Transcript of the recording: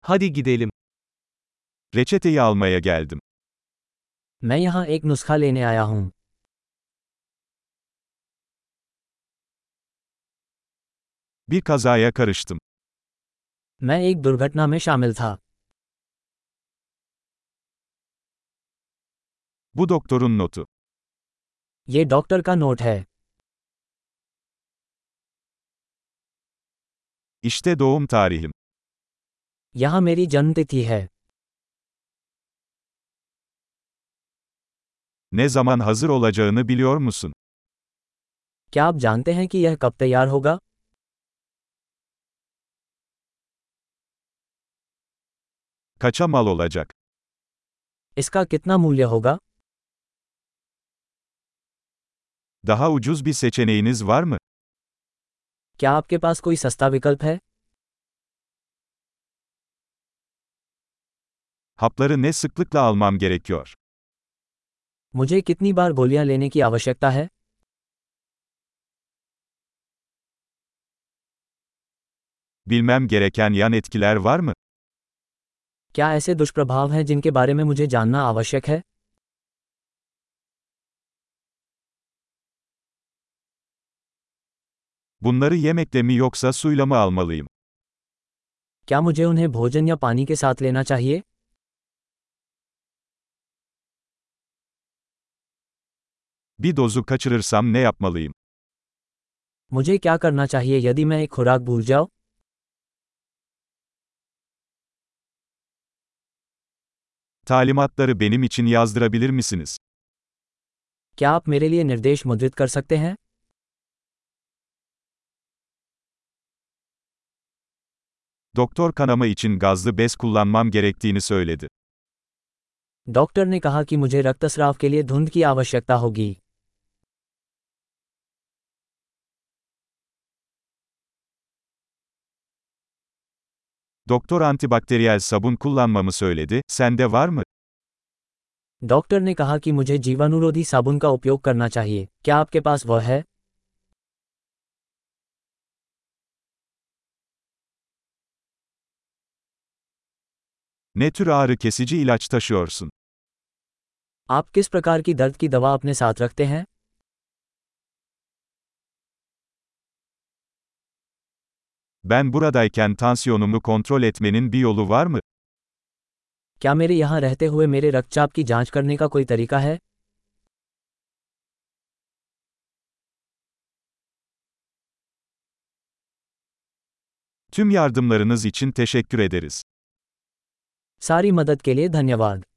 Hadi gidelim. Reçeteyi almaya geldim. मैं यहाँ एक नुस्खा लेने आया हूँ। Bir kazaya karıştım. मैं एक दुर्घटना में शामिल था। Bu doktorun notu. ये डॉक्टर का नोट है। İşte doğum tarihim. यहाँ मेरी जन्मतिथि है। Ne zaman hazır olacağını biliyor musun? क्या आप जानते हैं कि यह कब तैयार होगा? Kaça mal olacak? इसका कितना मूल्य होगा? Daha ucuz bir seçeneğiniz var mı? क्या आपके पास कोई सस्ता विकल्प है? Hapları ne sıklıkla almam gerekiyor? मुझे कितनी बार गोलियां लेने की आवश्यकता है? Bilmem gereken yan etkiler var mı? क्या ऐसे दुष्प्रभाव हैं जिनके बारे में मुझे जानना आवश्यक है? Bunları yemekle mi yoksa suyla mı almalıyım? क्या मुझे उन्हें भोजन या पानी के साथ लेना चाहिए? Bir dozu kaçırırsam ne yapmalıyım? मुझे क्या करना चाहिए यदि मैं एक खुराक भूल जाऊं? Talimatları benim için yazdırabilir misiniz? क्या आप मेरे लिए निर्देश मुद्रित कर सकते हैं? Doktor kanama için gazlı bez kullanmam gerektiğini söyledi. Doctor ने कहा कि मुझे रक्तस्राव के लिए धुंध की आवश्यकता होगी। Doktor antibakteriyel sabun kullanmamı söyledi, sende var mı? Doctor ने कहा कि मुझे जीवाणुरोधी साबुन का उपयोग करना चाहिए। क्या आपके पास वह है? Ne tür ağrı kesici ilaç taşıyorsun? आप किस प्रकार की दर्द की दवा अपने साथ रखते हैं? Ben buradayken tansiyonumu kontrol etmenin bir yolu var mı? क्या मेरे यहाँ रहते हुए मेरे रक्तचाप की जांच करने का कोई तरीका है? Tüm yardımlarınız için teşekkür ederiz. सारी मदद के लिए धन्यवाद।